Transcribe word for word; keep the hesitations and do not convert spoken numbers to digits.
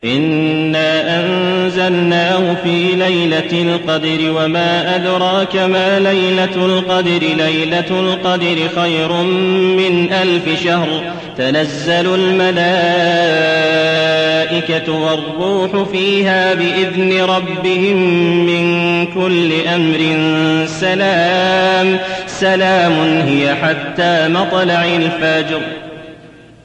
إنا أنزلناه في ليلة القدر وما أدراك ما ليلة القدر ليلة القدر خير من ألف شهر تنزل الملائكة والروح فيها بإذن ربهم من كل أمر سلام سلام هي حتى مطلع الفجر.